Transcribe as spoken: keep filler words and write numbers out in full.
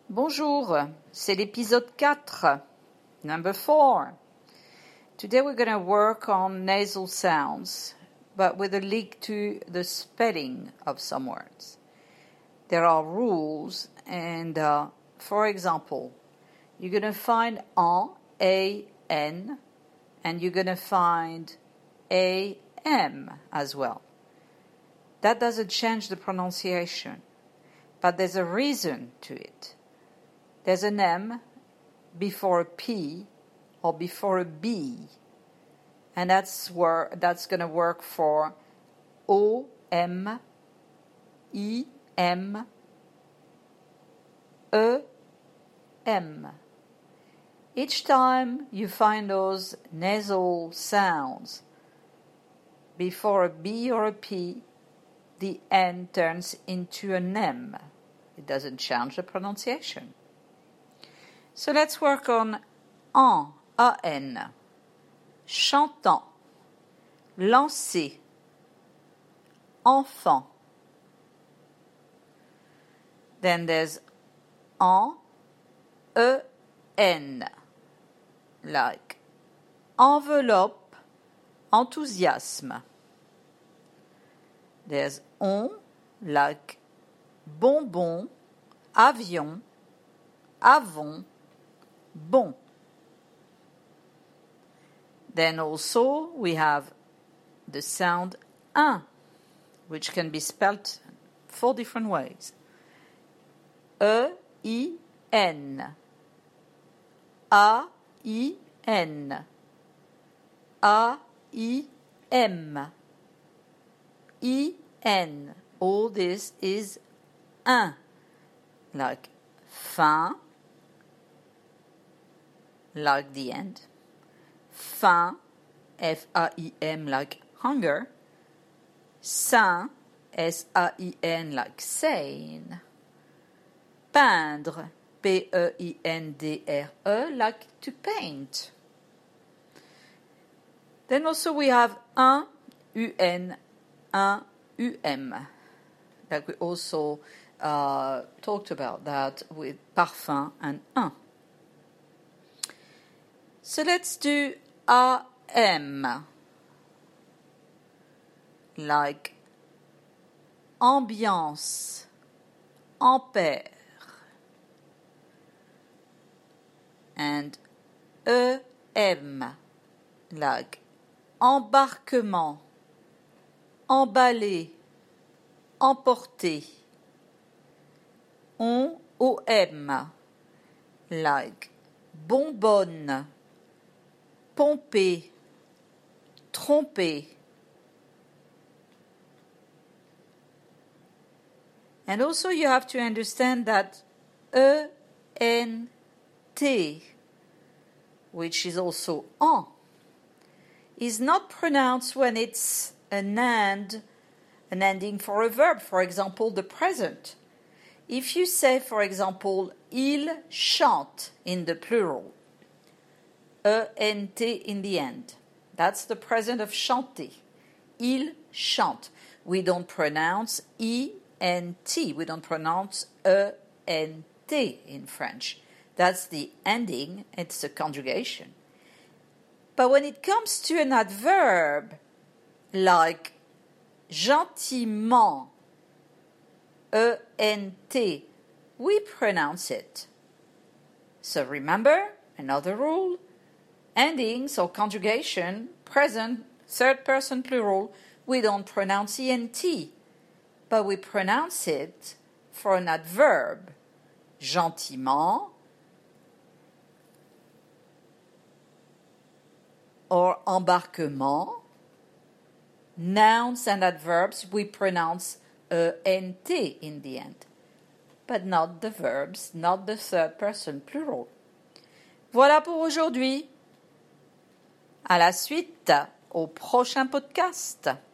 Bonjour, c'est l'épisode quatre, number four. Today we're going to work on nasal sounds, but with a link to the spelling of some words. There are rules, and uh, for example, you're going to find an, a, n, and you're going to find a, m as well. That doesn't change the pronunciation, but there's a reason to it. There's an M before a P or before a B, and that's where that's going to work for O, M, I, M, E, M. Each time you find those nasal sounds before a B or a P, the N turns into an M. It doesn't change the pronunciation. So let's work on an, A-N, chantant, lancer, enfant. Then there's en, E-N, like enveloppe, enthousiasme. There's on, like bonbon, avion, avon, bon. Then also we have the sound un, which can be spelt four different ways. E, I, N. A, I, N. A, I, M. I, N. All this is un, like fin, like the end, faim, F A I M, like hunger, sain, S A I N, like sane, peindre, P E I N D R E, like to paint. Then also we have un, U N, un, U M, like we also uh, talked about that with parfum and un. So let's do A M, like ambiance, ampère, and E M, like embarquement, emballer, emporter. On, O M, like bonbonne, pomper, tromper. And also you have to understand that E N T, which is also en, is not pronounced when it's an and, an ending for a verb, for example, the present. If you say, for example, il chante in the plural, E N T in the end. That's the present of chanter. Il chante. We don't pronounce I N T. We don't pronounce E N T in French. That's the ending. It's a conjugation. But when it comes to an adverb, like gentiment, E N T, we pronounce it. So remember, another rule, endings or conjugation, present, third person plural, we don't pronounce E N T, but we pronounce it for an adverb, gentiment, or embarquement. Nouns and adverbs, we pronounce E N T in the end, but not the verbs, not the third person plural. Voilà pour aujourd'hui. À la suite, au prochain podcast.